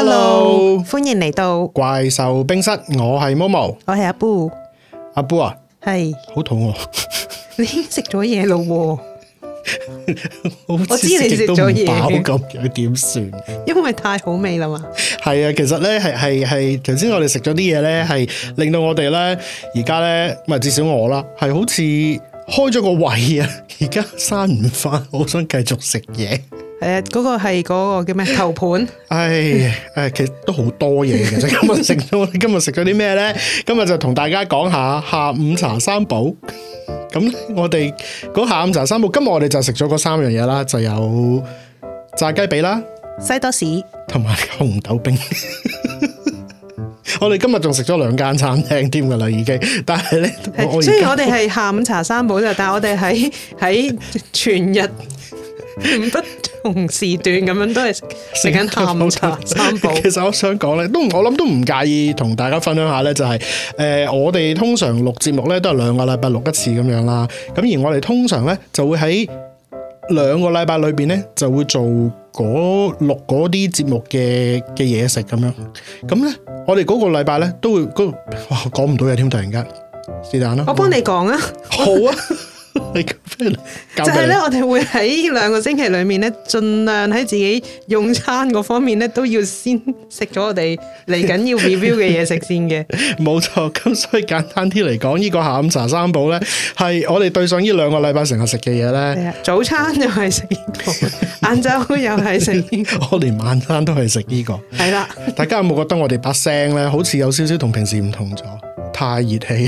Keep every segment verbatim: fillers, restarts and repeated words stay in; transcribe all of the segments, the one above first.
Hello， 歡迎嚟到怪獸冰室，我係 Momo， 我係阿 Boo， 阿 Boo 啊， 係好肚餓， 你已經食咗嘢咯， 我知你食咗嘢飽咁樣點算？ 因為太好味啦嘛。 係啊，其實咧係係係，頭先我哋食咗啲嘢咧，係令到我哋咧而家咧，唔係至少我啦，係好似開咗個胃啊，而家閂唔翻，好想繼續食嘢。 係啊，嗰個係嗰個叫咩頭盤？ 唉誒，其實都好多嘢嘅。今日食咗，我哋今日食咗啲咩咧？今日就同大家講下下午茶三寶。咁我哋嗰下午茶三寶，今日我哋就食咗嗰三樣嘢啦，就有炸雞髀啦、 西多士同埋紅豆冰。我哋今日仲食咗兩間餐廳添噶啦，已經。但係咧， 雖然我哋係下午茶三寶啫，但係我哋喺喺全日不同時段咁樣都係食緊下午茶三寶。其實我想講咧，都我諗都唔介意同大家分享下咧，就係、是、誒、呃，我哋通常錄節目咧都係兩個禮拜錄一次咁樣啦。咁而我哋通常咧就會喺兩個禮拜裏邊咧就會做嗰錄嗰啲節目嘅嘅嘢食咁樣。咁咧我哋嗰個禮拜咧都會嗰哇講唔到嘢添，突然間是但啦。 我幫你講啊。 好啊。 就係咧，我哋會喺兩個星期裏面咧，盡量喺自己用餐嗰方面咧，都要先食咗我哋嚟緊要 review 嘅嘢食先嘅。冇錯，咁所以簡單啲嚟講，呢、這個下午茶三寶咧，係我哋對上呢兩個禮拜成日食嘅嘢咧。 早餐又係食呢個，晏晝又係食呢個， 我連晚餐都係食呢個。係啦，大家有冇覺得我哋把聲咧，好似有少少同平時唔同咗？太熱氣。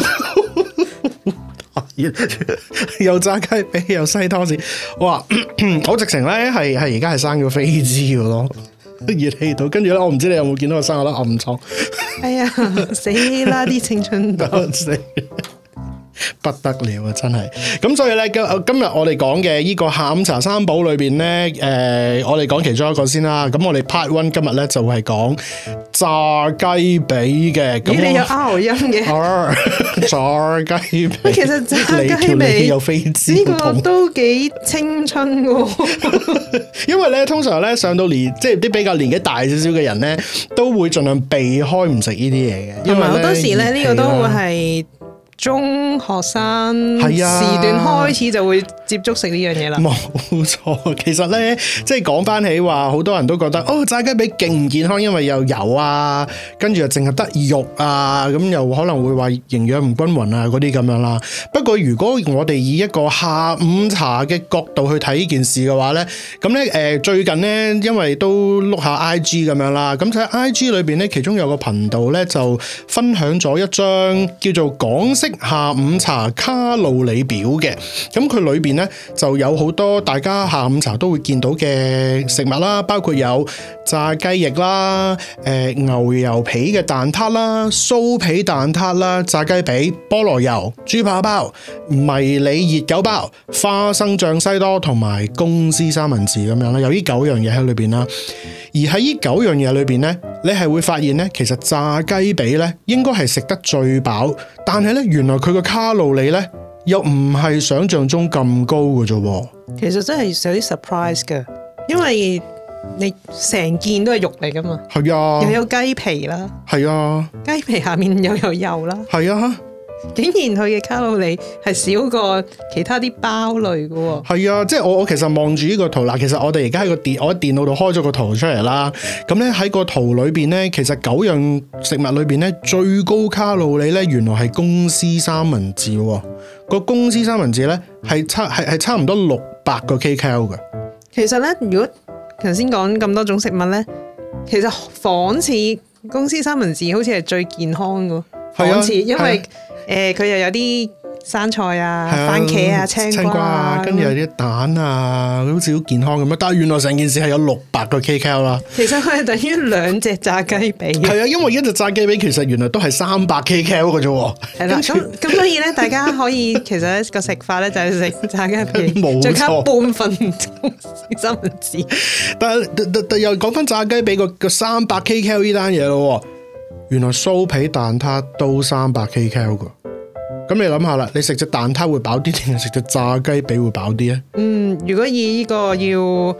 又炸雞髀又西多士，哇！我直情咧係係而家係生咗飛滋嘅咯，熱氣到，跟住咧我唔知你有冇見到我生咗粒暗瘡。哎呀，死啦！啲青春痘死。不得了啊！真係咁，所以咧今今日我哋講嘅呢個下午茶三寶裏邊咧，誒、呃，我哋講其中一個先啦。咁我哋 part one 今日咧就係講炸雞髀嘅。咦？你有 R 音嘅？炸雞髀。其實炸雞髀有飛滋呢個都幾青春嘅。因為咧，通常咧上到年，即係啲比較年紀大少少嘅人咧，都會盡量避開唔食呢啲嘢嘅。因為好多時咧，呢個都會係。中學生時段開始就會接觸食呢樣嘢啦。冇錯，其實咧，即係講翻起話，好多人都覺得哦，炸雞髀勁唔健康，因為又油啊，跟住又淨係得肉啊，咁又可能會話營養唔均勻啊，嗰啲咁樣啦。不過如果我哋以一個下午茶嘅角度去睇呢件事嘅話咧，咁咧誒最近咧，因為都碌下 I G 咁樣啦，咁喺 I G 裏邊咧，其中有個頻道咧就分享咗一張叫做港式下午茶卡路里表嘅，咁佢裏邊咧就有好多大家下午茶都會見到嘅食物啦，包括有炸雞翼啦、誒、呃、牛油皮嘅蛋撻啦、酥皮蛋撻啦、炸雞髀、菠蘿油、豬扒包、迷你熱狗包、花生醬西多同埋公司三文治咁樣啦，有呢九樣嘢喺裏邊啦。而喺呢九樣嘢裏邊咧，你係會發現咧，其實炸雞髀咧應該係食得最飽，但係咧原來佢個卡路里咧又唔係想象中咁高嘅啫。其實真係有啲 surprise 嘅，因為你成件都係肉嚟噶嘛。係啊，又有雞皮啦。係啊，雞皮下面又有油啦。係啊。竟然佢嘅卡路里係少過其他啲包類嘅喎。係啊，即係我我其實望住呢個圖啦，其實我哋而家喺個電我喺電腦度開咗個圖出嚟啦。咁咧喺個圖裏邊咧，其實九樣食物裏邊咧最高卡路里咧，原來係公司三文治喎。個公司三文治咧係差係係差唔多六百個 kcal 嘅。其實咧，如果頭先講咁多種食物咧，其實仿似公司三文治好似係最健康嘅。仿似因為誒，佢、呃、又有啲生菜啊、啊番茄啊、青瓜啊，跟住有啲蛋啊，好似好健康咁樣。但係原來成件事係有六百個 kcal 啦。其實佢係等於兩隻炸雞髀。係啊，因為一隻炸雞髀其實原來都係三百 kcal 嘅啫。係啦，咁咁所以咧，大家可以其實個食法咧就係食炸雞髀，再加半份三文治。但係又講翻炸雞髀個個三百 kcal 呢單嘢咯。原來酥皮蛋撻都三百 kcal 噶，咁你諗下啦，你食隻蛋撻會飽啲定係食隻炸雞髀會飽啲咧？嗯，如果以呢個要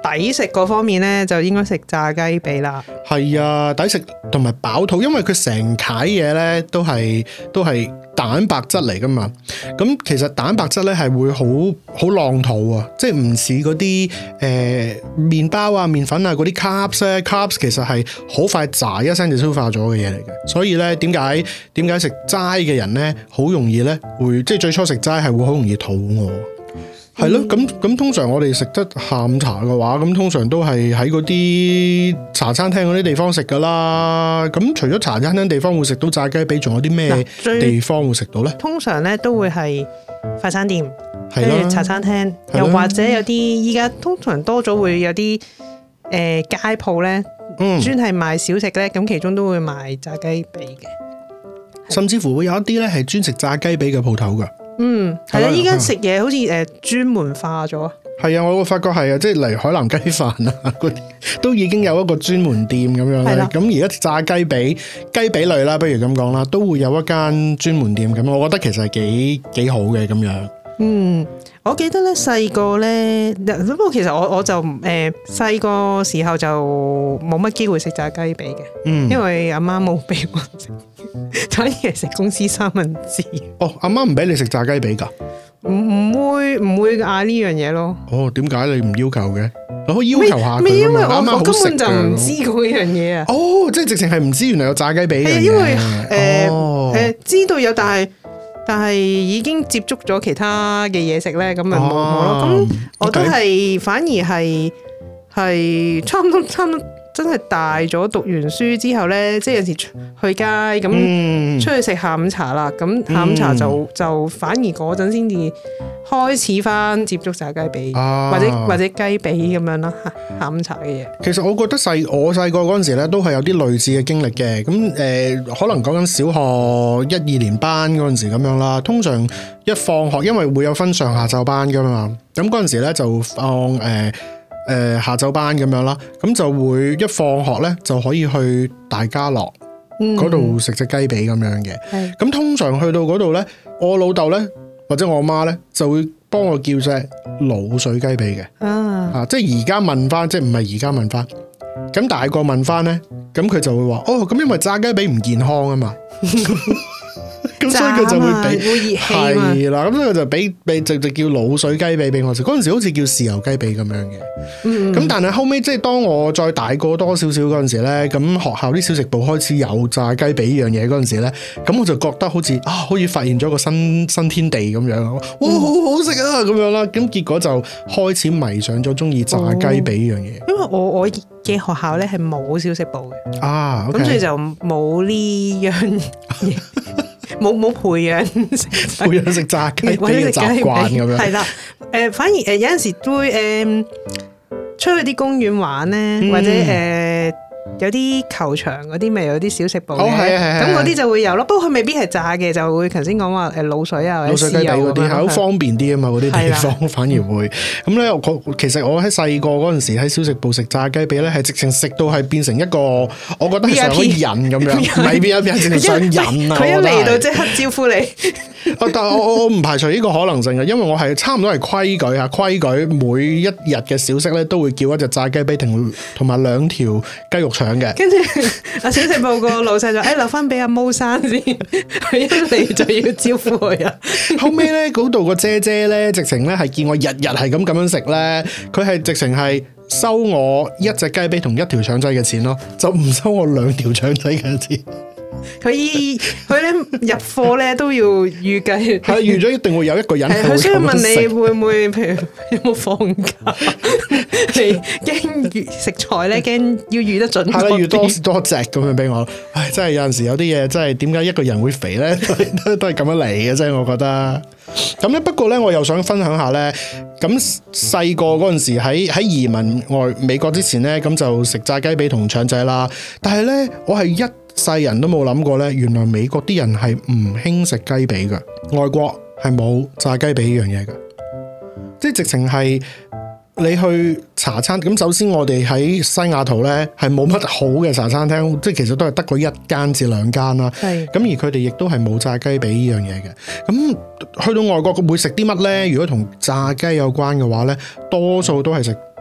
抵食嗰方面咧，就應該食炸雞髀啦。 係啊，抵食同埋飽肚，因為佢成攤嘢咧都係都係蛋白質嚟噶嘛。咁其實蛋白質咧係會好好浪肚啊，即係唔似嗰啲誒麵包啊、麵粉啊嗰啲 carbs 咧 ，carbs 其實係好快炸一聲就消化咗嘅嘢嚟嘅。所以咧，點解點解食齋嘅人咧好容易咧會即係最初食齋係會好容易肚餓。係咯，咁咁通常我哋食得下午茶嘅話，咁通常都係喺嗰啲茶餐廳嗰啲地方食噶啦。咁除咗茶餐廳地方會食到炸雞髀，仲有啲咩地方會食到咧？通常咧都會係快餐店，跟住茶餐廳，又或者有啲依家通常多咗會有啲誒、呃、街鋪咧，專係賣小食咧，咁其中都會賣炸雞髀嘅， 甚至乎會有一啲咧係專食炸雞髀嘅鋪頭噶。 嗯，係啦，依家食嘢好似誒專門化咗。 係啊，我會發覺係啊，即係嚟海南雞飯啊嗰啲，都已經有一個專門店咁樣咧。咁而家炸雞髀、雞髀類啦，不如咁講啦，都會有一間專門店咁，我覺得其實係幾幾好嘅咁樣。 嗯，我記得咧細個咧，不過其實我我就誒細個時候就冇乜機會食炸雞髀嘅，嗯，因為阿媽冇俾我食，反而係食公司三文治。哦， 阿媽唔俾你食炸雞髀噶？ 唔唔會唔會嗌呢樣嘢咯？ 哦，點解你唔要求嘅？你可以要求下佢。 因為我我根本就唔知嗰樣嘢啊。 哦，即係直情係唔知原來有炸雞髀嘅。 係因為誒誒、哦呃、知道有，但係。但係已經接觸咗其他嘅嘢食咧，咁咪冇冇咯。咁、哦、我都係反而係係差唔多差唔多真係大咗讀完書之後咧，即係有時去街咁、嗯、出去食下午茶啦。咁下午茶就、嗯、就反而嗰陣先至開始翻接觸炸雞髀、啊，或者或者雞髀咁樣啦。下午茶嘅嘢。其實我覺得細我細個嗰陣時咧，都係有啲類似嘅經歷嘅。咁誒、呃，可能講緊小學一二年班嗰陣時咁樣啦。通常一放學，因為會有分上下晝班噶嘛。咁嗰陣時咧就放誒。呃誒、呃，下晝班咁樣啦，咁就會一放學咧就可以去大家樂嗰度食隻雞髀咁樣嘅。咁、嗯、通常去到嗰度咧，我老豆咧或者我媽咧就會幫我叫隻滷水雞髀嘅。啊，啊，即係而家問翻，即係唔係而家問翻，咁大個問翻咧，咁佢就會話哦，咁因為炸雞髀唔健康啊嘛。咁所以佢就會俾會熱氣係啦，咁所以佢就俾俾直直叫滷水雞髀俾我食。嗰陣時好似叫豉油雞髀咁樣嘅。咁、嗯、但係後尾即係當我再大個多少少嗰陣時咧，咁學校啲小食部開始有炸雞髀呢樣嘢嗰陣時咧，咁我就覺得好似啊，好似發現咗個新新天地咁樣，哇，好好食啊咁樣啦。咁結果就開始迷上咗中意炸雞髀呢樣嘢。因為我我嘅學校咧係冇小食部嘅啊，咁、okay、所以就冇呢樣嘢。冇冇培養培養食炸雞髀嘅習慣咁樣，係啦，誒、呃，反而誒、呃、有陣時都會誒、呃、出去啲公園玩咧、嗯，或者誒。呃有啲球場嗰啲咪有啲小食部嘅，咁嗰啲就會有咯。不過佢未必係炸嘅，就會頭先講話誒滷水啊，滷水雞髀嗰啲係好方便啲啊嘛，嗰啲地方反而會咁咧。我其實我喺細個嗰陣時喺小食部食炸雞髀咧，係直情食到係變成一個，我覺得係上咗癮咁樣，唔係變咗變成上癮啊！佢一嚟到即刻招呼你。但係我我我唔排除呢個可能性嘅，因為我係差唔多係規矩啊，規矩每一日嘅小食咧都會叫一隻炸雞髀同同埋兩條雞肉腸嘅。跟住阿小食部個老細就誒留翻俾阿毛生先，佢一嚟就要招呼佢啊。後尾咧嗰度個姐姐咧，直情咧係見我日日係咁咁樣食咧，佢係直情係收我一隻雞髀同一條腸仔嘅錢咯，就唔收我兩條腸仔嘅錢。佢佢咧入貨咧都要預計，係預咗一定會有一個人。佢需要問你會唔會，譬如有冇放假？你驚食材咧，驚要預得準。係啦，預多多隻咁樣俾我。唉，真係有陣時有啲嘢，真係點解一個人會肥咧？都都係咁樣嚟嘅啫，我覺得。咁咧，不過咧，我又想分享下咧。咁細個嗰陣時喺喺移民外美國之前咧，咁就食炸雞髀同腸仔啦。但係咧，我係一世人都冇諗過咧，原來美國啲人係唔興食雞髀噶，外國係冇炸雞髀呢樣嘢噶，即係直情係你去茶餐咁。首先我哋喺西雅圖咧係冇乜好嘅茶餐廳，即係其實都係得個一間至兩間啦。係咁，而佢哋亦都係冇炸雞髀呢樣嘢嘅。咁去到外國會食啲乜咧？如果同炸雞有關嘅話咧，多數都係食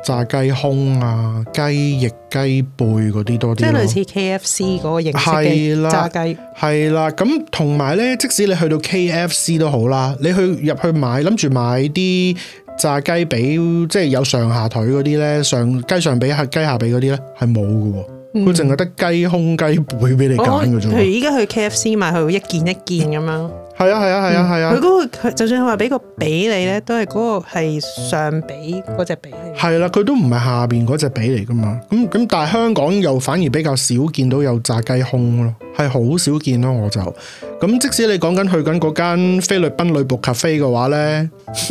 炸雞胸啊、雞翼、雞背嗰啲多啲， 即係類似 K F C 嗰個形式嘅炸雞。 係啦，咁同埋咧，即使你去到 K F C 都好啦，你去入去買，諗住買啲炸雞髀，即係有上下腿嗰啲咧，上雞上髀、下雞下髀嗰啲咧，係冇嘅。佢淨係得雞胸、雞背俾你揀嘅啫。 佢依家去 K F C 買，佢一件一件咁樣。係啊係啊係啊係啊！ 佢嗰、嗰個就算佢話俾個髀你咧，都係嗰個係上髀嗰隻髀嚟。係啦，佢都唔係下邊嗰隻髀嚟噶嘛。咁咁，但係香港又反而比較少見到有炸雞胸咯，係好少見咯。我就咁，即使你講緊去緊嗰間菲律賓女僕咖啡嘅話咧。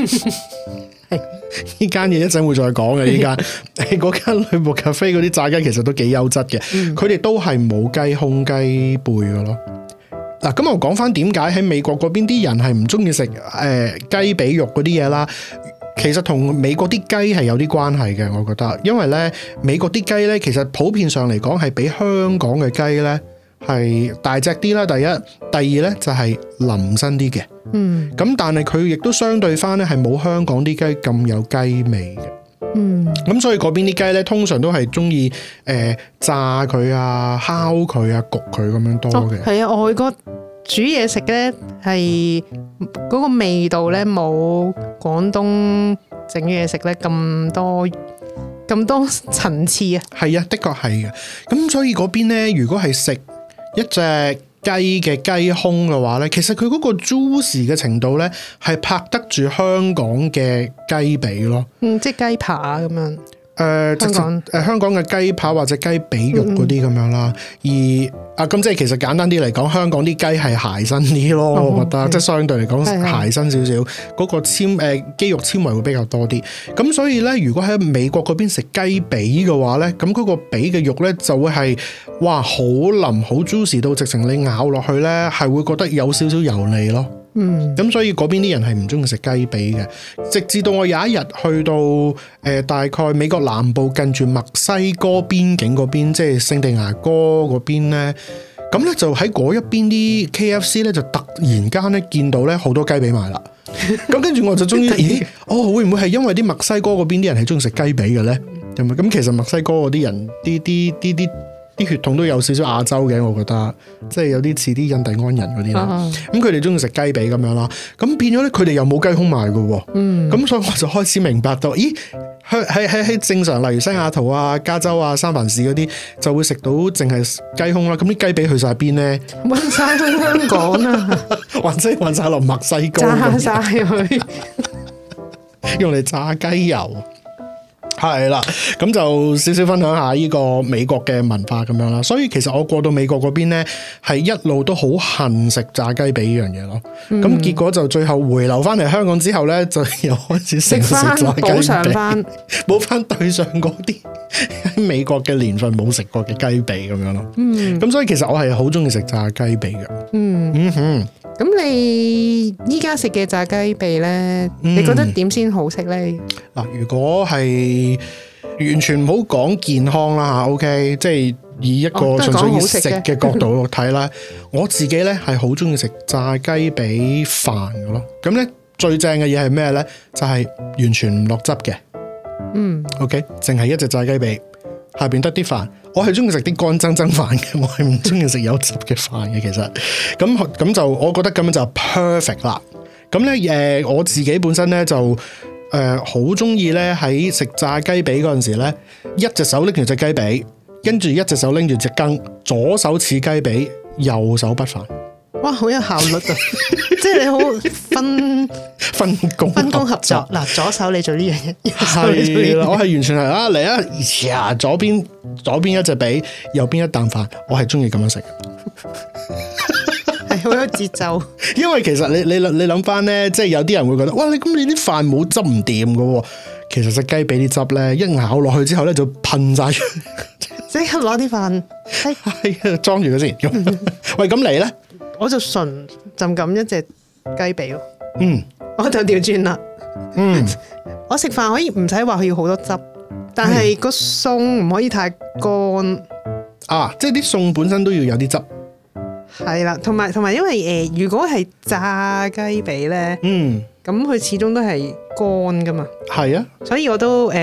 呢間嘢一陣會再講嘅，呢間嗰間女僕咖啡嗰啲炸雞其實都幾優質嘅，佢哋、嗯、都係冇雞胸雞背嘅咯。嗱，咁我講翻點解喺美國嗰邊啲人係唔中意食誒雞髀肉嗰啲嘢啦？其實同美國啲雞係有啲關係嘅，我覺得，因為咧美國啲雞咧其實普遍上嚟講係比香港嘅雞咧係大隻啲啦。第一，第二咧就係腍身啲嘅。嗯，咁但係佢亦都相對翻咧係冇香港啲雞咁有雞味嘅。嗯，咁所以嗰邊啲雞咧通常都係中意誒炸佢啊、烤佢啊、焗佢咁樣多嘅。 係啊，外國煮嘢食咧係嗰個味道咧冇廣東整嘢食咧咁多咁多層次啊。係啊，的確係嘅。咁所以嗰邊咧，如果係食一隻雞嘅雞胸嘅話咧，其實佢嗰個 juicy 嘅程度咧，係拍得住香港嘅雞髀咯。 嗯，即係雞扒咁樣。誒、 呃，香港誒、呃、香港嘅雞扒或者雞髀肉嗰啲咁樣啦。嗯、而啊，咁即係其實簡單啲嚟講，香港啲雞係鞋身啲咯，哦、我覺得、嗯、即係相對嚟講鞋身少少，嗰個纖誒、呃、肌肉纖維會比較多啲。咁所以咧，如果喺美國嗰邊食雞髀嘅話咧，咁嗰個髀嘅肉咧就會係哇好腍好 juicy 到直情你咬落去咧係會覺得有少少油膩咯。嗯，咁所以嗰邊啲人係唔中意食雞髀嘅，直至到我有一日去到誒、呃、大概美國南部近住墨西哥邊境嗰邊，即係聖地牙哥嗰邊咧，咁咧就喺嗰一邊啲 K F C 咧就突然間咧見到咧好多雞髀賣啦，咁跟住我就終於咦，哦會唔會係因為啲墨西哥嗰邊啲人係中意食雞髀嘅咧？咁咁其實墨西哥嗰啲人啲啲啲啲。啲血統都有少少亞洲嘅，我覺得即係有啲似啲印第安人嗰啲啦。咁佢哋中意食雞髀咁樣啦，咁變咗咧，佢哋又冇雞胸賣嘅。嗯，咁所以我就開始明白到，咦，喺喺喺正常，例如西雅圖啊、加州啊、三藩市嗰啲，就會食到淨係雞胸啦。咁啲雞髀去晒邊咧？ 運晒去香港啊！ 或者運晒落墨西哥， 炸晒佢， 用嚟炸雞油。係啦，咁就少少分享下呢個美國嘅文化咁樣啦。所以其實我過到美國嗰邊咧，係一路都好恨食炸雞髀呢樣嘢咯。咁、嗯、結果就最後回流翻嚟香港之後咧，就又開始食翻補償翻，補翻對上嗰啲喺美國嘅年份冇食過嘅雞髀咁樣咯。嗯，咁所以其實我係好中意食炸雞髀嘅。嗯嗯哼。 咁你依家食嘅炸雞髀咧，嗯、你覺得點先好食咧？ 嗱，如果係完全唔好講健康啦吓 ，OK，即係以一個純粹以食嘅角度睇啦，我自己咧係好中意食炸雞髀飯嘅咯。咁咧最正嘅嘢係咩咧？就係、是、完全唔落汁嘅。嗯 ，OK，淨係一隻炸雞髀，下邊得啲飯。我係中意食啲乾蒸蒸飯嘅，我係唔中意食有汁嘅飯嘅。其實咁咁就，我覺得咁樣就 perfect 啦。咁咧，誒，我自己本身咧就誒好中意咧喺食炸雞髀嗰陣時咧，一隻手拎住隻雞髀，跟住一隻手拎住隻羹，左手似雞髀，右手不飯。 哇，好有效率啊！即係你好分分工分工合作。嗱，左手你做呢樣嘢，右手你做呢樣嘢。 我係完全係啊嚟啊，呀左邊左邊一隻髀，右邊一啖飯，我係中意咁樣食。 係好有節奏。因為其實你你你諗翻咧，即係有啲人會覺得，哇！你咁你啲飯冇汁唔掂噶。其實隻雞髀啲汁咧，一咬落去之後咧就噴晒出， 即刻攞啲飯係裝住佢先。喂，咁你咧？ 我就純就咁一隻雞髀咯， 嗯， 我就調轉啦， 嗯， 我食飯可以唔使話佢要好多汁，但係個餸唔可以太乾啊，即係啲餸本身都要有啲汁， 係啦，同埋同埋因為誒、呃，如果係炸雞髀咧，嗯，咁佢始終都係乾噶嘛， 係啊， 所以我都誒。呃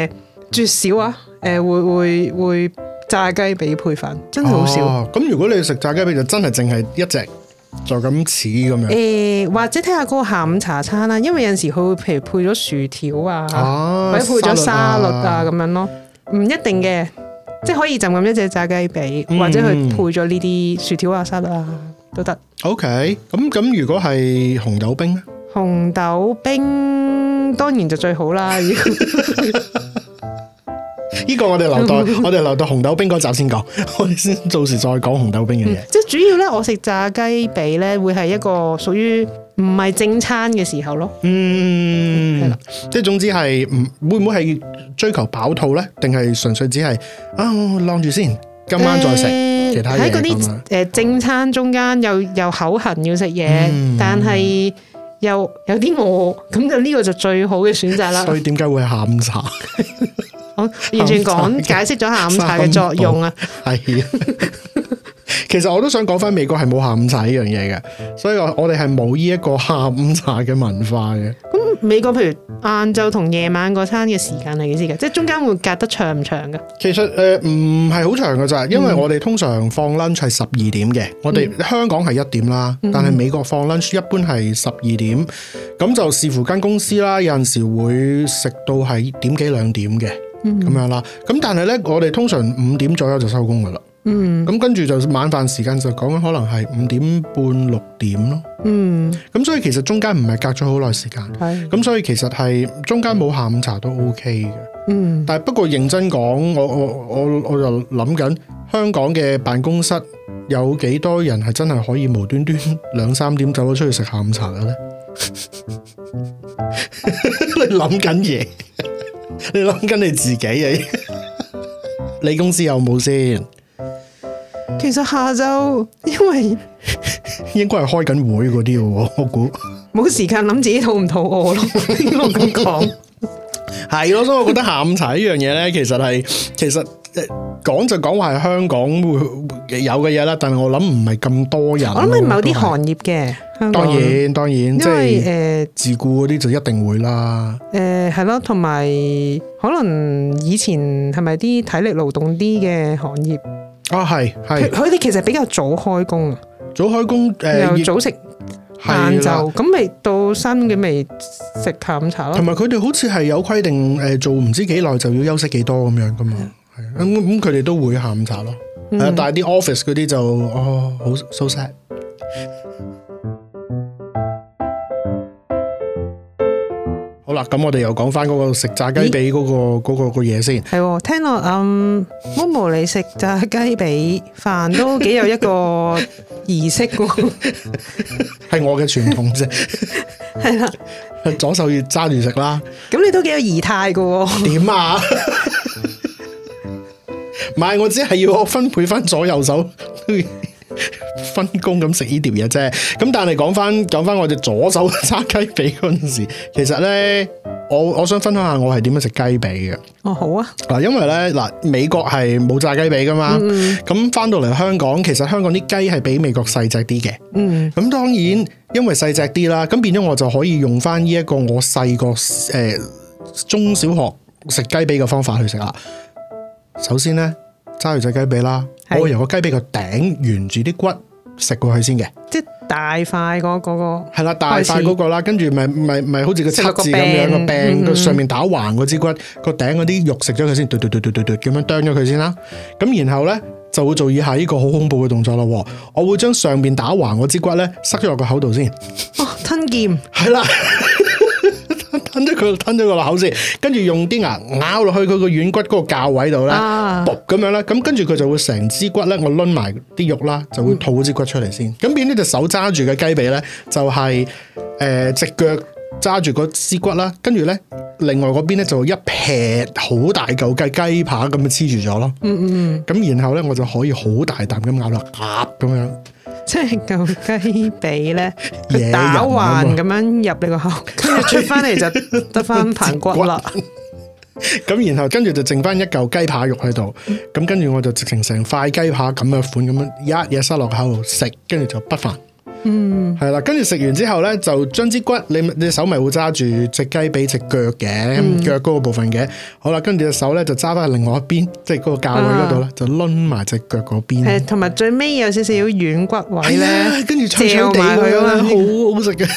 絕少啊！誒、呃，會會會炸雞髀配飯，真係好少。 咁、哦、如果你食炸雞髀，就真係淨係一隻就咁似咁樣。誒、 呃，或者睇下嗰個下午茶餐啦，因為有陣時佢會譬如配咗薯條啊，啊或者配咗沙律啊咁、啊、樣咯，唔一定嘅，即係可以就咁一隻炸雞髀，嗯、或者佢配咗呢啲薯條啊、沙律啊都得。OK， 咁咁如果係紅豆冰咧？ 紅豆冰當然就最好啦。 呢個我哋留待我哋留到紅豆冰嗰集先講，我哋先到時再講紅豆冰嘅嘢、嗯。即係主要咧，我食炸雞髀咧，會係一個屬於唔係正餐嘅時候咯。嗯，係啦， 即係總之係唔會唔會係追求飽肚咧，定係純粹只係啊晾住先，今晚再食、呃、其他嘢。喺嗰啲誒正餐中間又又口痕要食嘢，嗯、但係又有啲餓，咁就呢個就最好嘅選擇啦。所以點解會係下午茶？完全講解釋咗下午茶嘅作用啊！係，其實我都想講翻美國係冇下午茶呢樣嘢嘅，所以我我哋係冇呢一個下午茶嘅文化嘅。咁美國譬如晏晝同夜晚嗰餐嘅時間係幾時嘅？即係中間會隔得長唔長嘅？其實誒唔係好長㗎咋，因為我哋通常放 lunch 係十二點嘅，我哋香港係一點啦，嗯、但係美國放 lunch 一般係十二點，咁就視乎間公司啦，有陣時會食到係點幾兩點嘅。咁、嗯、樣啦，咁但係咧，我哋通常五點左右就收工噶啦。嗯，咁跟住就晚飯時間就講緊可能係五點半六點咯。嗯，咁所以其實中間唔係隔咗好耐時間。係，咁所以其實係中間冇下午茶都 OK 嘅。嗯，但係不過認真講，我我我我就諗緊香港嘅辦公室有幾多人係真係可以無端端兩三點走咗出去食下午茶嘅咧？你諗緊嘢？你諗緊你自己啊？你公司有冇先？其實下晝因為應該係開緊會嗰啲喎，我估冇時間諗自己肚唔肚餓咯。應該咁講係咯，所以我覺得下午茶呢樣嘢咧，其實係其實講就講話係香港會有嘅嘢啦，但係我諗唔係咁多人。我諗係某啲行業嘅。當然當然，即係誒自雇嗰啲就一定會啦。誒係咯，同埋可能以前係咪啲體力勞動啲嘅行業啊？係係，佢哋其實比較早開工啊，早開工誒，又早食晏晝，咁咪到三點幾咪食下午茶咯。同埋佢哋好似係有規定誒，做唔知幾耐就要休息幾多咁樣噶嘛。係咁咁，佢哋都會下午茶咯。係啊，但係啲 office 嗰啲就哦好 so sad。好啦，咁我哋又講翻嗰個食炸雞髀嗰、嗰個嗰、嗰個嘢先。係，聽落嗯，Momo 你食炸雞髀飯都幾有一個儀式噶，係我嘅傳統啫。係啦，左手要揸住食啦。咁你都幾有儀態噶？點啊？唔係，我只係要我分配翻左右手。分工咁食呢條嘢啫，咁但係講翻講翻我哋左手揸雞髀嗰陣時，其實咧我我想分享下我係點樣食雞髀嘅。哦，好啊。嗱，因為咧嗱，美國係冇炸雞髀噶嘛，咁翻到嚟香港，其實香港啲雞係比美國細隻啲嘅。嗯，咁當然因為細隻啲啦，咁變咗我就可以用翻呢一個我細個誒中小學食雞髀嘅方法去食啦。首先咧揸住隻雞髀啦，我會由個雞髀個頂沿住啲骨食過去先嘅，即係大塊嗰嗰個係啦，大塊嗰個啦，跟住咪咪咪好似個七字咁樣個柄個上面打橫嗰支骨個頂嗰啲肉食咗佢先，嘟嘟嘟嘟嘟嘟咁樣啄咗佢先啦。咁然後咧就會做以下呢個好恐怖嘅動作咯。我會將上面打橫嗰支骨咧塞咗落個口度先。哦，吞劍係啦。吞咗佢，吞咗個口先，跟住用啲牙咬落去佢個軟骨嗰個較位度咧，卜咁樣咧，咁跟住佢就會成支骨咧，我掄埋啲肉啦，就會吐支骨出嚟先。咁、嗯、變呢隻手揸住嘅雞髀咧，就係誒隻腳揸住嗰支骨啦，跟住咧另外嗰邊咧就一劈好大嚿雞雞扒咁樣黐住咗咯。嗯嗯嗯。咁然後咧我就可以好大啖咁咬落，鴨咁樣。即係嚿雞髀咧，佢打橫咁樣入你個口，跟住出翻嚟就得翻盤骨啦。咁然後跟住就剩翻一嚿雞扒肉喺度，咁、嗯、跟住我就直情成塊雞扒咁嘅款咁樣一嘢塞落口度食，跟住就不飯。 嗯，係啦，跟住食完之後咧，就將支骨，你你手咪會揸住隻雞髀隻腳嘅腳嗰個部分嘅，好啦，跟住隻手咧就揸翻去另外一邊，即係嗰個架位嗰度咧，就掄埋隻腳嗰邊。係，同埋最尾有少少軟骨位咧，跟住脆脆地佢啊，好好食嘅。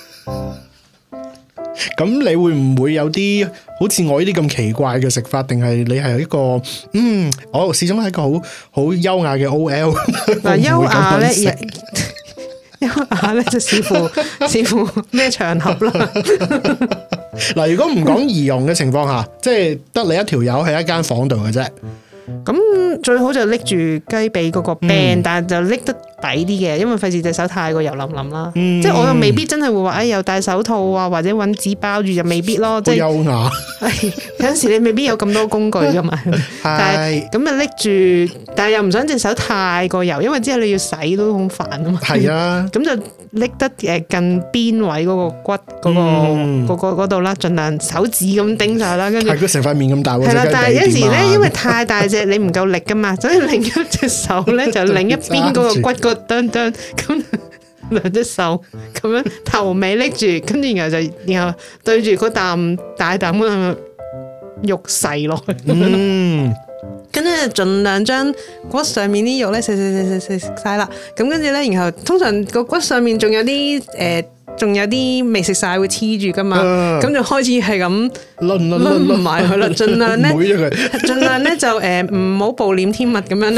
咁你會唔會有啲好似我呢啲咁奇怪嘅食法？定係你係一個嗯，我始終係一個好好優雅嘅 O L。嗱，優雅咧，優雅咧就視乎視乎咩場合啦。嗱，如果唔講儀容嘅情況下，即係得你一條友喺一間房度嘅啫。咁最好就拎住雞髀嗰個柄，嗯、但係就拎得抵啲嘅，因為費事隻手太過油淋淋啦。嗯、即係我又未必真係會話，哎，又戴手套啊，或者搵紙包住，就未必咯。即係優雅，有陣時你未必有咁多工具噶嘛。但係咁啊拎住，但係又唔想隻手太過油，因為之後你要洗都好煩啊嘛。係啊，咁就拎得誒近邊位嗰個骨嗰、嗰個嗰、嗰個嗰度啦，盡量手指咁頂晒啦，跟住係佢成塊面咁大。係啦，但係有陣時咧，因為太大隻，你唔夠力噶嘛，所以另一隻手咧就另一邊嗰個骨個墩墩咁，兩隻手咁樣頭尾拎住，跟住然後就然後對住嗰啖大啖咁樣肉細落去。嗯。跟住盡量將骨上面啲肉咧食食食食食晒啦，咁跟住咧，然後通常個骨上面仲有啲誒，仲、呃、有啲未食晒會黐住噶嘛，咁、uh, 就開始係咁掄掄埋佢啦，盡量咧，盡量咧就誒唔好暴殄天物咁樣咧，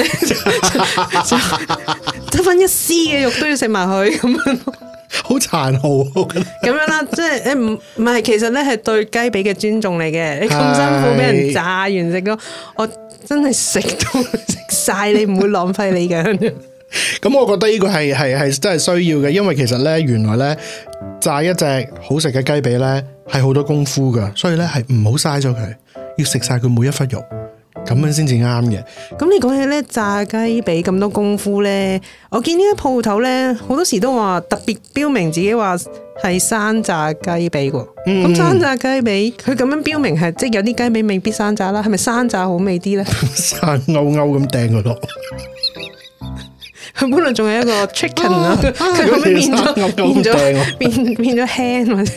得翻一絲嘅肉都要食埋佢咁樣。好殘酷咁樣啦，即係誒唔唔係，其實咧係對雞髀嘅尊重嚟嘅。你咁辛苦俾人炸完食咯，我真係食到食晒，你唔會浪費你嘅。咁我覺得呢個係係係真係需要嘅，因為其實咧原來咧炸一隻好食嘅雞髀咧係好多功夫噶，所以咧係唔好嘥咗佢，要食晒佢每一忽肉。咁樣先至啱嘅。咁你講起咧炸雞髀咁多功夫咧，我見呢啲鋪頭咧好多時都話特別標明自己話係生炸雞髀喎。咁、嗯、生炸雞髀佢咁樣標明係即係有啲雞髀未必生炸啦，係咪生炸好味啲咧？生勾勾咁掟佢落。佢本來仲係一個 chicken 啊，佢後尾變咗變咗變變咗 hen 或者。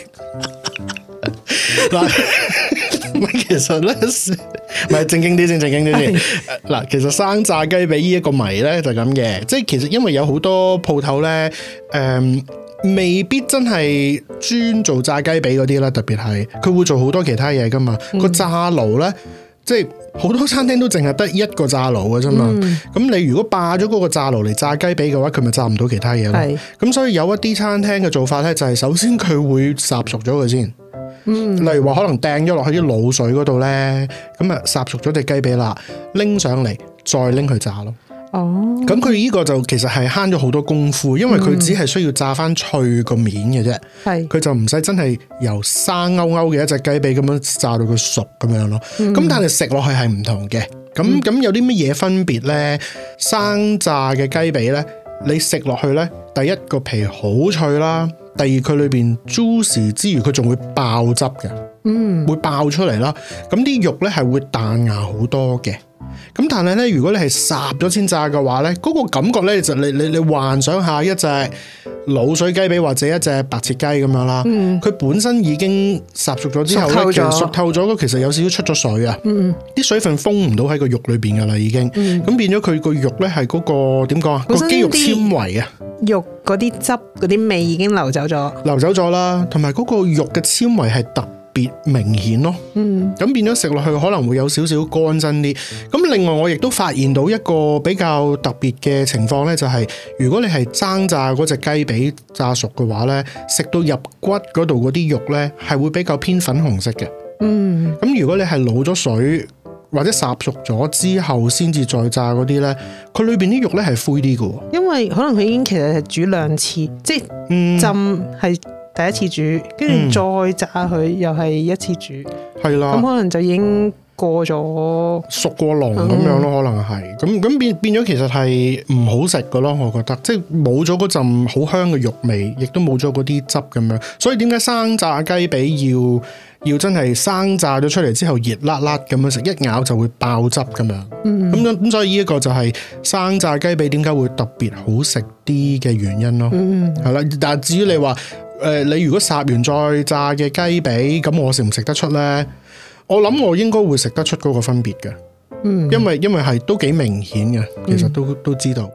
其實咧，唔係正經啲先，正經啲先。嗱，其實生炸雞髀呢一個謎咧就咁嘅，即係其實因為有好多鋪頭咧，誒、呃，未必真係專做炸雞髀嗰啲啦，特別係佢會做好多其他嘢噶嘛。個、嗯、炸爐咧，即係好多餐廳都淨係得一個炸爐嘅啫嘛。咁、嗯、你如果霸咗嗰個炸爐嚟炸雞髀嘅話，佢咪炸唔到其他嘢咯。咁所以有一啲餐廳嘅做法咧，就係首先佢會烚熟咗佢先。嗯，例如話可能掟咗落去啲滷水嗰度咧，咁啊烚熟咗隻雞髀啦，拎上嚟再拎去炸咯。哦，咁佢呢個就其實係慳咗好多功夫，因為佢只係需要炸翻脆個面嘅啫。係、嗯，佢就唔使真係由生勾勾嘅一隻雞髀咁樣炸到佢熟咁樣咯。咁、嗯、但係食落去係唔同嘅。咁咁、嗯、有啲乜嘢分別咧？生炸嘅雞髀咧，你食落去咧，第一個皮好脆啦。第二，佢裏邊 juicy 之餘，佢仲會爆汁嘅，嗯，會爆出嚟啦。咁啲肉咧係會彈牙好多嘅。咁但係咧，如果你係烚咗先炸嘅話咧，嗰、嗰個感覺咧就你你你幻想下一隻滷水雞髀或者一隻白切雞咁樣啦，佢、嗯、本身已經烚熟咗之後咧，其實熟透咗，其實有少少出咗水啊，啲、嗯、水分封唔到喺個肉裏邊噶啦，已經，咁、嗯、變咗佢個肉咧係嗰個點講啊，個肌肉纖維啊，肉嗰啲汁嗰啲味已經流走咗，流走咗啦，同埋嗰個肉嘅纖維係特別明顯咯，嗯，咁變咗食落去可能會有少少乾身啲。咁另外我亦都發現到一個比較特別嘅情況咧，就係如果你係生炸嗰隻雞髀炸熟嘅話咧，食到入骨嗰度嗰啲肉咧係會比較偏粉紅色嘅，嗯，咁如果你係滷咗水或者烚熟咗之後先至再炸嗰啲咧，佢裏邊啲肉咧係灰啲嘅，因為可能佢已經其實係煮兩次，即係、嗯、浸係。第一次煮，跟住再炸佢、嗯，又係一次煮，係啦。咁可能就已經過咗熟過籠咁樣咯、嗯，可能係咁咁變變咗，其實係唔好食噶咯。我覺得即係冇咗嗰陣好香嘅肉味，亦都冇咗嗰啲汁咁樣。所以點解生炸雞髀要要真係生炸咗出嚟之後熱辣辣咁樣食，一咬就會爆汁咁樣。嗯，咁咁所以呢一個就係生炸雞髀點解會特別好食啲嘅原因咯。嗯，係啦，但係至於你話誒、呃，你如果烚完再炸嘅雞髀，咁我食唔食得出咧？我諗我應該會食得出嗰個分別嘅。嗯，因為因為係都幾明顯嘅，其實都、嗯、都知道。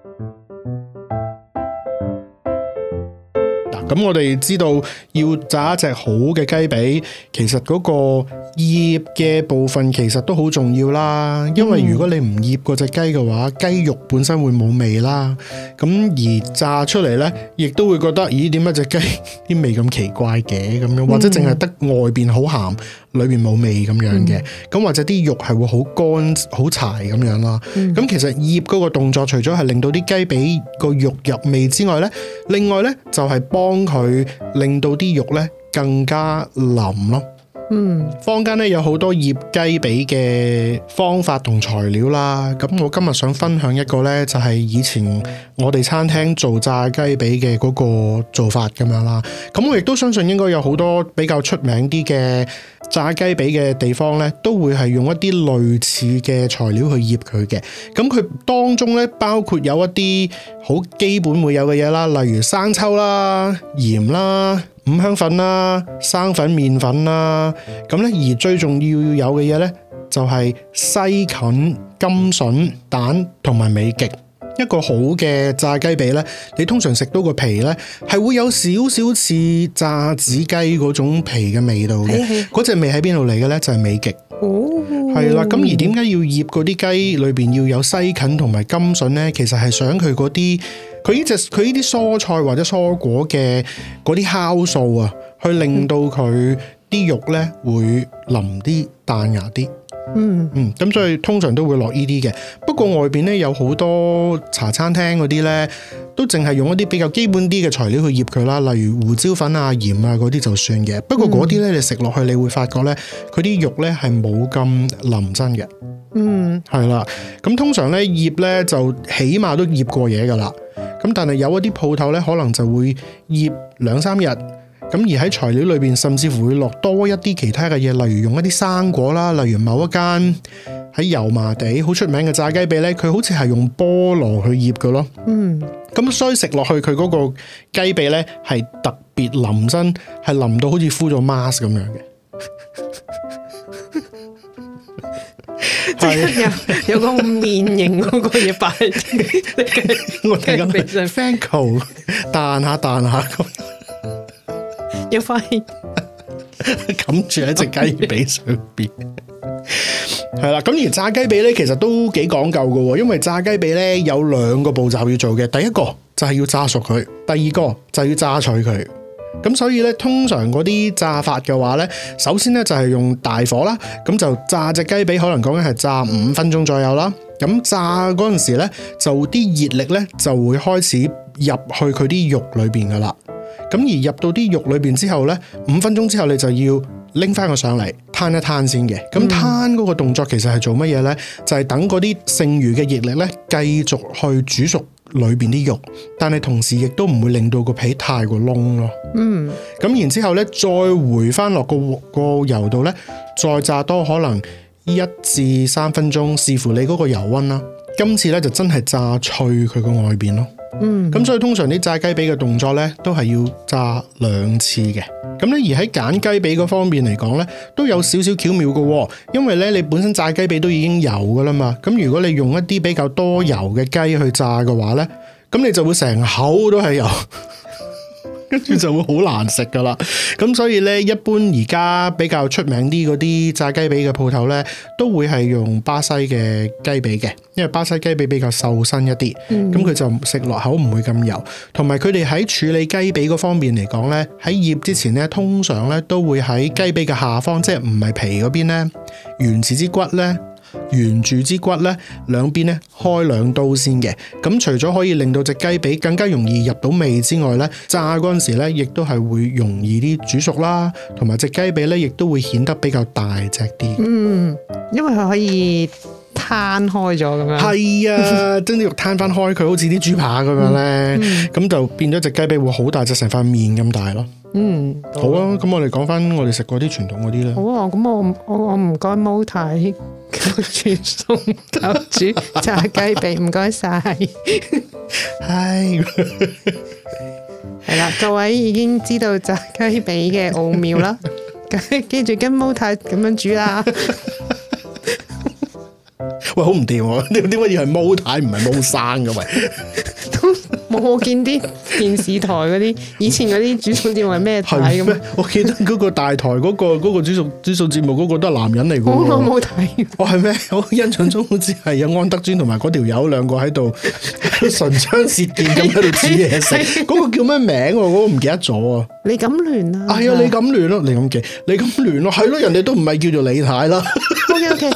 咁我哋知道要炸一隻好嘅雞髀，其實嗰個醃嘅部分其實都好重要啦。因為如果你唔醃嗰隻雞嘅話，雞肉本身會冇味啦。咁而炸出嚟呢，亦都會覺得，咦，點解隻雞啲味咁奇怪嘅咁樣？或者淨係得外邊好鹹，裏邊冇味咁樣嘅。咁、嗯、或者啲肉係會好乾好柴咁樣啦。咁、嗯、其實醃嗰個動作，除咗係令到啲雞髀個肉入味之外呢，另外呢就係幫佢令到啲肉咧更加腍咯。嗯，坊間咧有好多醃雞髀嘅方法同材料啦。咁我今日想分享一個咧，就係以前我哋餐廳做炸雞髀嘅嗰個做法咁樣啦。咁我亦都相信應該有好多比較出名啲嘅炸雞髀嘅地方咧，都會係用一啲類似嘅材料去醃佢嘅。咁佢當中咧包括有一啲好基本會有嘅嘢啦，例如生抽啦、鹽啦、五香粉啦、生粉、麵粉啦。咁咧而最重要有嘅嘢咧，就係西芹、甘筍、蛋同埋美極。一個好嘅炸雞髀咧，你通常食到個皮咧，係會有少少似炸子雞嗰種皮嘅味道嘅。嗰隻味喺邊度嚟嘅咧？就係美極。哦，係啦。咁而點解要醃嗰啲雞裏邊要有西芹同埋甘筍咧？其實係想佢嗰啲，佢呢隻佢呢啲蔬菜或者蔬果嘅嗰啲酵素啊，去令到佢啲肉咧會腍啲、彈牙啲。嗯嗯，咁所以通常都會落呢啲嘅。不過外邊咧有好多茶餐廳嗰啲咧，都淨係用一啲比較基本啲嘅材料去醃佢啦，例如胡椒粉啊、鹽啊嗰啲就算嘅。不過嗰啲咧你食落去，你會發覺咧，佢啲肉咧係冇咁腍身嘅。嗯，係啦。咁通常咧醃咧就起碼都醃過嘢噶啦。咁但係有一啲鋪頭咧，可能就會醃兩三日。咁而喺材料裏邊，甚至乎會落多一啲其他嘅嘢，例如用一啲生果啦，例如某一間喺油麻地好出名嘅炸雞髀咧，佢好似係用菠蘿去醃嘅咯。嗯，咁所以食落去佢嗰個雞髀咧係特別腍身，係腍到好似敷咗 mask 咁樣嘅。 即係有有個面型嗰個嘢擺喺我睇緊 Fanco 彈下彈下咁。 有塊冚住喺隻雞髀上邊，係啦。咁而炸雞髀咧，其實都幾講究㗎，因為炸雞髀咧有兩個步驟要做嘅。第一個就係要炸熟佢，第二個就係要炸脆佢。咁所以咧，通常嗰啲炸法嘅話咧，首先咧就係用大火啦，咁就炸隻雞髀，可能講緊係炸五分鐘左右啦。咁炸嗰陣時咧，就啲熱力咧就會開始入去佢啲肉裏邊噶啦。咁而入到啲肉裏邊之後咧，五分鐘之後你就要拎翻佢上嚟攤一攤先嘅。咁攤嗰個動作其實係做乜嘢咧？就係、是、等嗰啲剩餘嘅熱力咧，繼續去煮熟裏邊啲肉，但係同時亦都唔會令到個皮太過燶咯。嗯。咁然之後咧，再回翻落個個油度咧，再炸多可能一至三分鐘，視乎你嗰個油溫啦。今次咧就真係炸脆佢個外邊咯。嗯，咁所以通常啲炸雞髀嘅動作咧，都係要炸兩次嘅。咁咧而喺揀雞髀嗰方面嚟講咧，都有少少巧妙嘅。因為咧你本身炸雞髀都已經油噶啦嘛，咁如果你用一啲比較多油嘅雞去炸嘅話咧，咁你就會成口都係油。跟住就會好難食噶啦，咁所以咧，一般而家比較出名啲嗰啲炸雞髀嘅鋪頭咧，都會係用巴西嘅雞髀嘅，因為巴西雞髀比較瘦身一啲，咁佢、嗯、就食落口唔會咁油，同埋佢哋喺處理雞髀嗰方面嚟講咧，喺醃之前咧，通常咧都會喺雞髀嘅下方，即係唔係皮嗰邊咧，原始之骨咧。沿住支骨咧，兩邊咧開兩刀先嘅。咁除咗可以令到隻雞髀更加容易入到味之外咧，炸嗰陣時咧，亦都係會容易啲煮熟啦，同埋隻雞髀咧，亦都會顯得比較大隻啲。嗯， 因為佢可以攤開咗咁樣。 係啊，將啲肉攤翻開，佢好似啲豬扒咁樣咧，咁、嗯嗯、就變咗隻雞髀會好大隻，成塊面咁大咯。 嗯， 好啊，咁我哋講翻我哋食過啲傳統嗰啲啦。 好啊，咁我我我唔該毛太煮餸頭煮炸雞髀，唔該晒。 係係啦，各位已經知道炸雞髀嘅奧妙啦，記住跟毛太咁樣煮啦。 喂，好唔掂喎！點點解要係毛太唔係毛生嘅喂？ 冇我見啲電視台嗰啲以前嗰啲煮餸節目係咩台咁咩？ 我記得嗰個大台嗰、嗰個嗰、嗰個煮餸煮餸節目嗰個都係男人嚟嘅。我冇睇。 哦，係咩？我印象中好似係有安德尊同埋嗰條友兩個喺度唇槍舌劍咁喺度煮嘢食。嗰個叫咩名？我嗰個唔記得咗啊！ 李錦聯啊！ 係啊，李錦聯咯，李錦記，李錦聯咯，係咯，人哋都唔係叫做李太啦。 OK OK。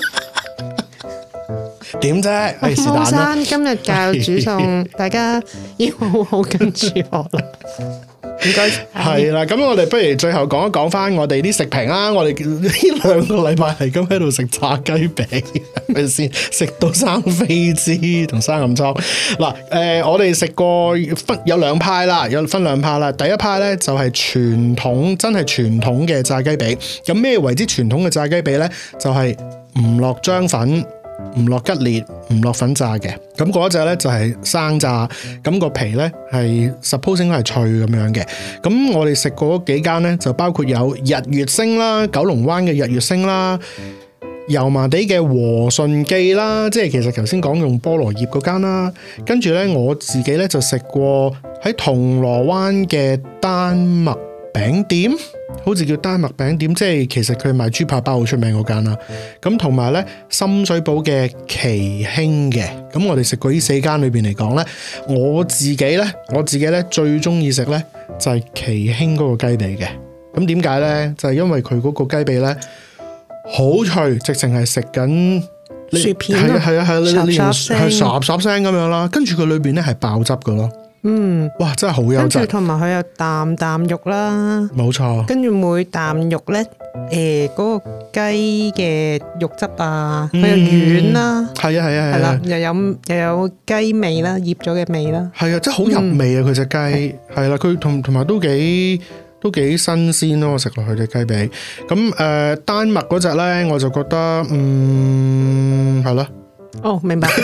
點啫？ 毛生今日教煮餸，大家要好好跟住學啦。唔該。 係啦，咁我哋不如最後講一講翻我哋啲食評啦。我哋呢兩個禮拜係咁喺度食炸雞餅，係咪先？食到生痱滋同生暗瘡。嗱，誒，我哋食過分有兩派啦，有分兩派啦。第一派咧就係傳統，真係傳統嘅炸雞髀。咁咩為之傳統嘅炸雞髀咧？就係唔落漿粉。唔落吉列，唔落粉炸嘅，咁嗰一隻咧就係生炸，咁個皮咧係 suppose 應該係脆咁樣嘅。咁我哋食過嗰幾間咧，就包括有日月星啦、九龍灣嘅日月星啦、油麻地嘅和順記啦，即係其實頭先講用菠蘿葉嗰間啦。跟住咧我自己咧就食過喺銅鑼灣嘅丹麥餅店。好似叫丹麥餅店，即係其實佢賣豬扒包好出名嗰間啦。咁同埋咧深水埗嘅奇興嘅，咁我哋食過呢四間裏邊嚟講咧，我自己咧我自己咧最中意食咧就係奇興嗰個雞髀嘅。咁點解咧？就係因為佢嗰個雞髀咧好脆，直情係食緊薯片， 係啊係啊係啊， 霎霎聲係霎霎聲咁樣啦。跟住佢裏邊咧係爆汁噶咯。嗯，哇，真係好優質。 跟住同埋佢有啖啖肉啦， 冇錯。跟住每啖肉咧，誒、呃，嗰、那個雞嘅肉汁啊，佢又軟啦， 係啊係啊係啦， 又有又有雞味啦，醃咗嘅味啦， 係啊，真係好入味啊！佢隻雞係啦，佢同同埋都幾都幾新鮮咯，我食落去隻雞髀。咁誒、呃，丹麥嗰隻咧，我就覺得嗯係咯。 哦，明白。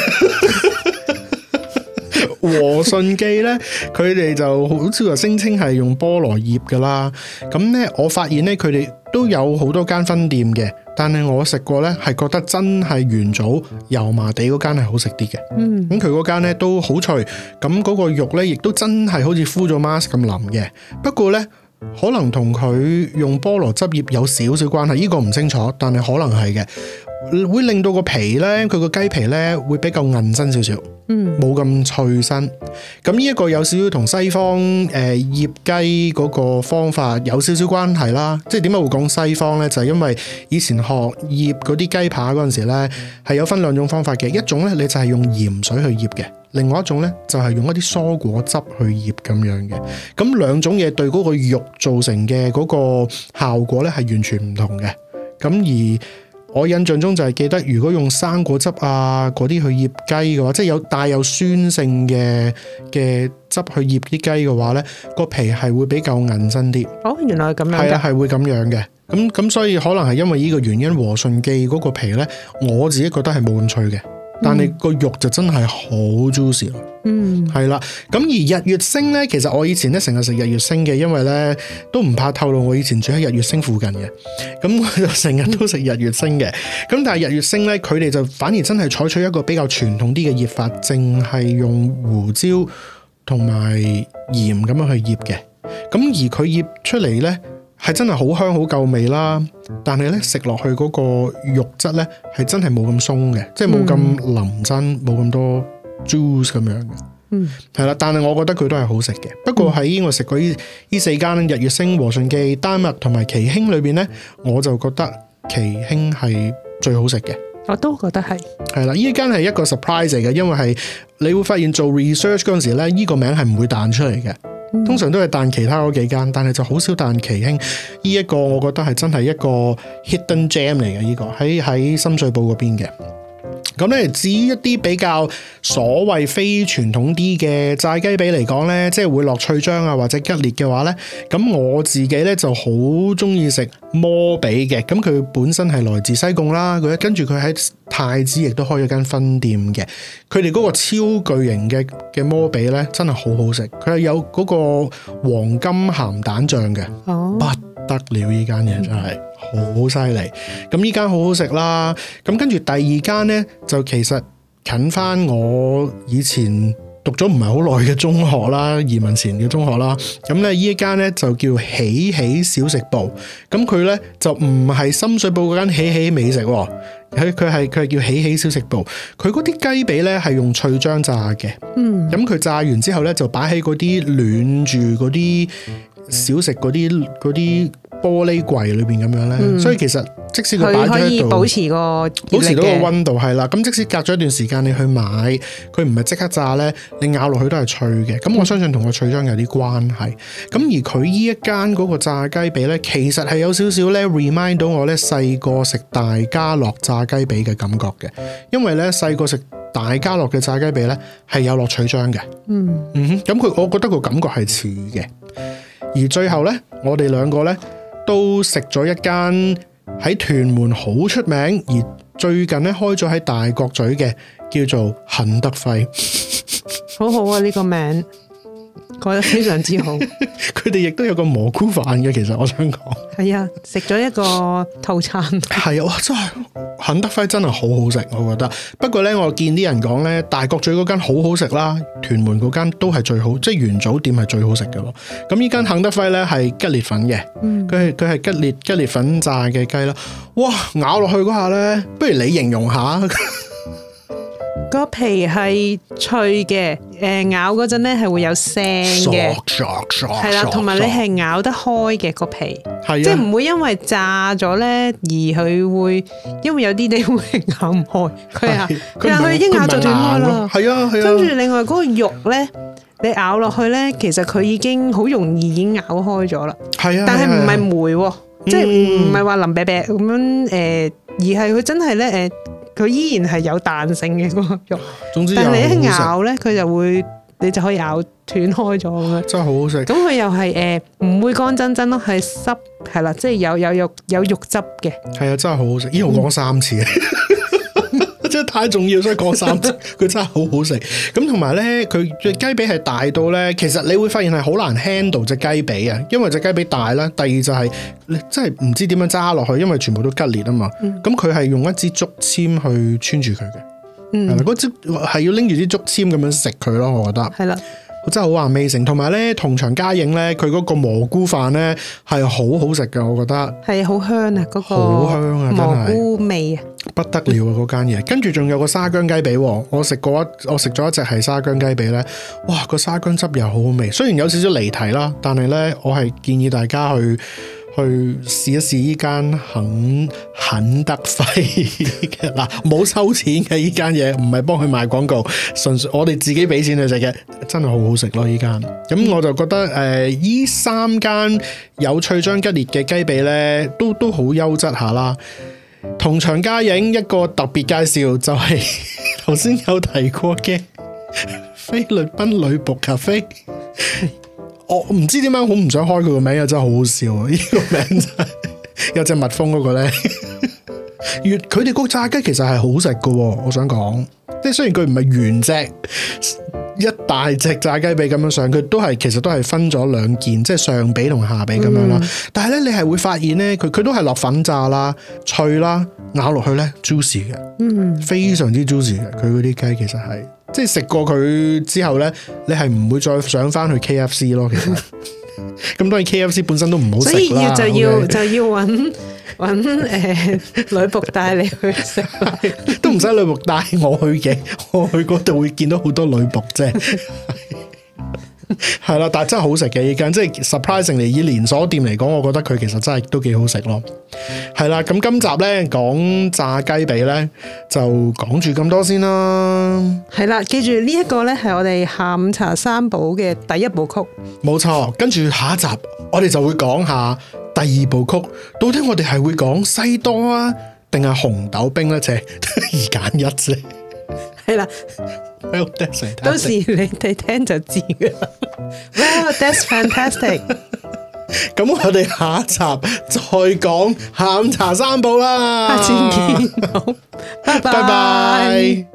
和順記咧，佢哋就好似話聲稱係用菠蘿葉噶啦。咁咧，我發現咧，佢哋都有好多間分店嘅，但係我食過咧，係覺得真係元祖油麻地嗰間係好食啲嘅。嗯，咁佢嗰間咧都好脆，咁嗰個肉咧亦都真係好似敷咗 mask 咁腍嘅。不過咧，可能同佢用菠蘿汁葉有少少關係，呢個唔清楚，但係可能係嘅，會令到個皮咧，佢個雞皮咧會比較韌身少少。嗯，冇咁脆身，咁呢一個有少少同西方誒醃雞嗰個方法有少少關係啦。即係點解會講西方咧？就係因為以前學醃嗰啲雞扒嗰陣時咧，係有分兩種方法嘅。一種咧，你就係用鹽水去醃嘅；另外一種咧，就係用一啲蔬果汁去醃咁樣嘅。咁兩種嘢對嗰個肉造成嘅嗰個效果咧係完全唔同嘅。咁而我印象中就係記得，如果用生果汁啊嗰啲去醃雞嘅話，即係有帶有酸性嘅嘅汁去醃啲雞嘅話咧，個皮係會比較韌身啲。哦，原來係咁樣嘅。係啊，係會咁樣嘅。咁咁所以可能係因為呢個原因，和順記嗰個皮咧，我自己覺得係冇咁脆嘅。但係個肉就真係好 juicy 咯，嗯，係啦。咁而日月星咧，其實我以前咧成日食日月星嘅，因為咧都唔怕透露我以前住喺日月星附近嘅，咁我就成日都食日月星嘅。咁但係日月星咧，佢哋就反而真係採取一個比較傳統啲嘅醃法，淨係用胡椒同埋鹽咁樣去醃嘅。咁而佢醃出嚟咧，係真係好香好夠味啦，但係咧食落去嗰個肉質咧係真係冇咁鬆嘅，即係冇咁腍身，冇咁、嗯、多 juice 咁樣嘅。嗯，係啦，但係我覺得佢都係好食嘅。不過喺我食過呢呢四間日月星、和順記、丹麥同埋奇興裏邊咧，我就覺得奇興係最好食嘅。 我都覺得係。係啦，呢間係一個 surprise 嚟嘅，因為係你會發現做 research 嗰陣時咧，呢、這個名係唔會彈出嚟嘅。通常都係彈其他嗰幾間，但係就好少彈奇興。呢一個我覺得係真係一個 hidden gem 嚟嘅，呢個喺喺深水埗嗰邊嘅。 咁咧，至於一啲比較所謂非傳統啲嘅炸雞髀嚟講咧，即係會落脆漿啊或者吉列嘅話咧，咁我自己咧就好中意食摩比嘅。咁佢本身係來自西貢啦，佢跟住佢喺太子亦都開咗間分店嘅。佢哋嗰個超巨型嘅嘅摩比咧，真係好好食。佢係有嗰個黃金鹹蛋醬嘅，哦、不得了！呢間嘢真係好犀利。咁呢間好好食啦。咁跟住第二間咧，就其實近翻我以前讀咗唔係好耐嘅中學啦，移民前嘅中學啦。咁咧呢一間咧就叫喜喜小食部。咁佢咧就唔係深水埗嗰間喜喜美食，佢佢係佢係叫喜喜小食部。佢嗰啲雞髀咧係用脆漿炸嘅。嗯。咁佢炸完之後咧就擺喺嗰啲暖住嗰啲小食嗰啲嗰啲玻璃櫃裏邊咁樣咧，嗯、所以其實即使佢擺咗喺度，可以保持個保持到個溫度係啦。咁即使隔咗一段時間你去買，佢唔係即刻炸咧，你咬落去都係脆嘅。咁我相信同個脆漿有啲關係。咁、嗯、而佢呢一間嗰個炸雞髀咧，其實係有少少咧 remind 到我咧細個食大家樂炸雞髀嘅感覺嘅，因為咧細個食大家樂嘅炸雞髀咧係有落脆漿嘅。嗯嗯哼，咁佢我覺得個感覺係似嘅。而最後咧，我哋兩個咧都食咗一間喺屯門好出名，而最近咧開咗喺大角咀嘅，叫做肯德輝。 好好啊，呢個名改得非常之好。 佢哋亦都有個蘑菇飯嘅，其實我想講。 係啊，食咗一個套餐。 係啊，哇！真係肯德輝真係好好食，我覺得。不過咧，我見啲人講咧，大角咀嗰間好好食啦，屯門嗰間都係最好，即係元祖店係最好食嘅咯。咁呢間肯德輝咧係吉列粉嘅，佢係佢係吉列吉列粉炸嘅雞啦。哇！咬落去嗰下咧，不如你形容下。 個皮係脆嘅，誒咬嗰陣咧係會有聲嘅，係啦，同埋你係咬得開嘅個皮，係啊，即係唔會因為炸咗咧而佢會，因為有啲你會咬唔開，佢啊，佢啊佢已經咬就斷開啦，係啊係啊，跟住另外嗰個肉咧，你咬落去咧，其實佢已經好容易已經咬開咗啦，係啊，但係唔係梅，即係唔係話腍啤啤咁樣誒，而係佢真係咧誒。佢依然係有彈性嘅嗰個肉，總之但係你一咬咧，佢就會你就可以咬斷開咗咁樣，真係好好食。咁佢又係誒唔會乾真真咯，係濕係啦，即係有有肉有肉汁嘅。係啊，真係好好食。依我講三次，嗯、真係太重要，所以講三次。佢真係好好食。咁同埋咧，佢隻雞髀係大到咧，其實你會發現係好難 handle 隻雞髀啊，因為隻雞髀大啦。第二就係、是、你真係唔知點樣揸落去，因為全部都吉列啊嘛。咁佢係用一支竹籤去穿住佢嘅，係啦、嗯，嗰支係要拎住支竹籤咁樣食佢咯。我覺得係啦。真係好 amazing，同埋咧同場加映咧，佢嗰個蘑菇飯咧係好好食嘅，我覺得係好香啊！嗰、嗰個好香啊，蘑菇味啊，不得了啊！嗰間嘢，跟住仲有個沙薑雞髀，我食過一，我食咗一隻係沙薑雞髀咧，哇！個沙薑汁又好好味，雖然有少少離題啦，但係咧我係建議大家去。去試一試呢間肯肯德輝嘅嗱，冇收錢嘅呢間嘢，唔係幫佢賣廣告，純粹我哋自己俾錢去食嘅，真係好好食咯呢間。咁我就覺得誒，呢、呃、三間有脆漿吉列嘅雞髀咧，都都好優質下啦。同場加映一個特別介紹就係頭先有提過嘅菲律賓女僕咖啡。我唔知點解好唔想開佢個名，又真係好好笑啊！呢、這個名真係有隻蜜蜂嗰個咧，越佢哋個炸雞其實係好食噶，我想講，即係雖然佢唔係原隻一大隻炸雞髀咁樣上，佢都係其實都係分咗兩件，即係上髀同下髀咁樣啦。嗯、但係咧，你係會發現咧，佢佢都係落粉炸啦、脆啦，咬落去咧 juicy 嘅，嗯，非常之 juicy 嘅。佢嗰啲雞其實係。即係食過佢之後咧，你係唔會再想翻去 K F C 咯。其實咁當然 K F C 本身都唔好食啦。所以要就要 okay? 就要揾揾誒女僕帶你去食，都唔使女僕帶我去嘅，我去嗰度會見到好多女僕啫。係啦，但係真係好食嘅呢間，即係 surprisingly 以連鎖店嚟講，我覺得佢其實真係都幾好食咯。係啦，咁今集咧講炸雞髀咧就講住咁多先啦。係啦，記住呢一個咧係我哋下午茶三寶嘅第一部曲，冇錯。跟住下一集我哋就會講下第二部曲，到底我哋係會講西多啊定係紅豆冰咧？就係二揀一啫。 係啦。 Well, that's 到時你哋聽就知噶啦。Well, that's fantastic。 咁我哋下一集再講下午茶三寶啦。 下次見，好，拜拜。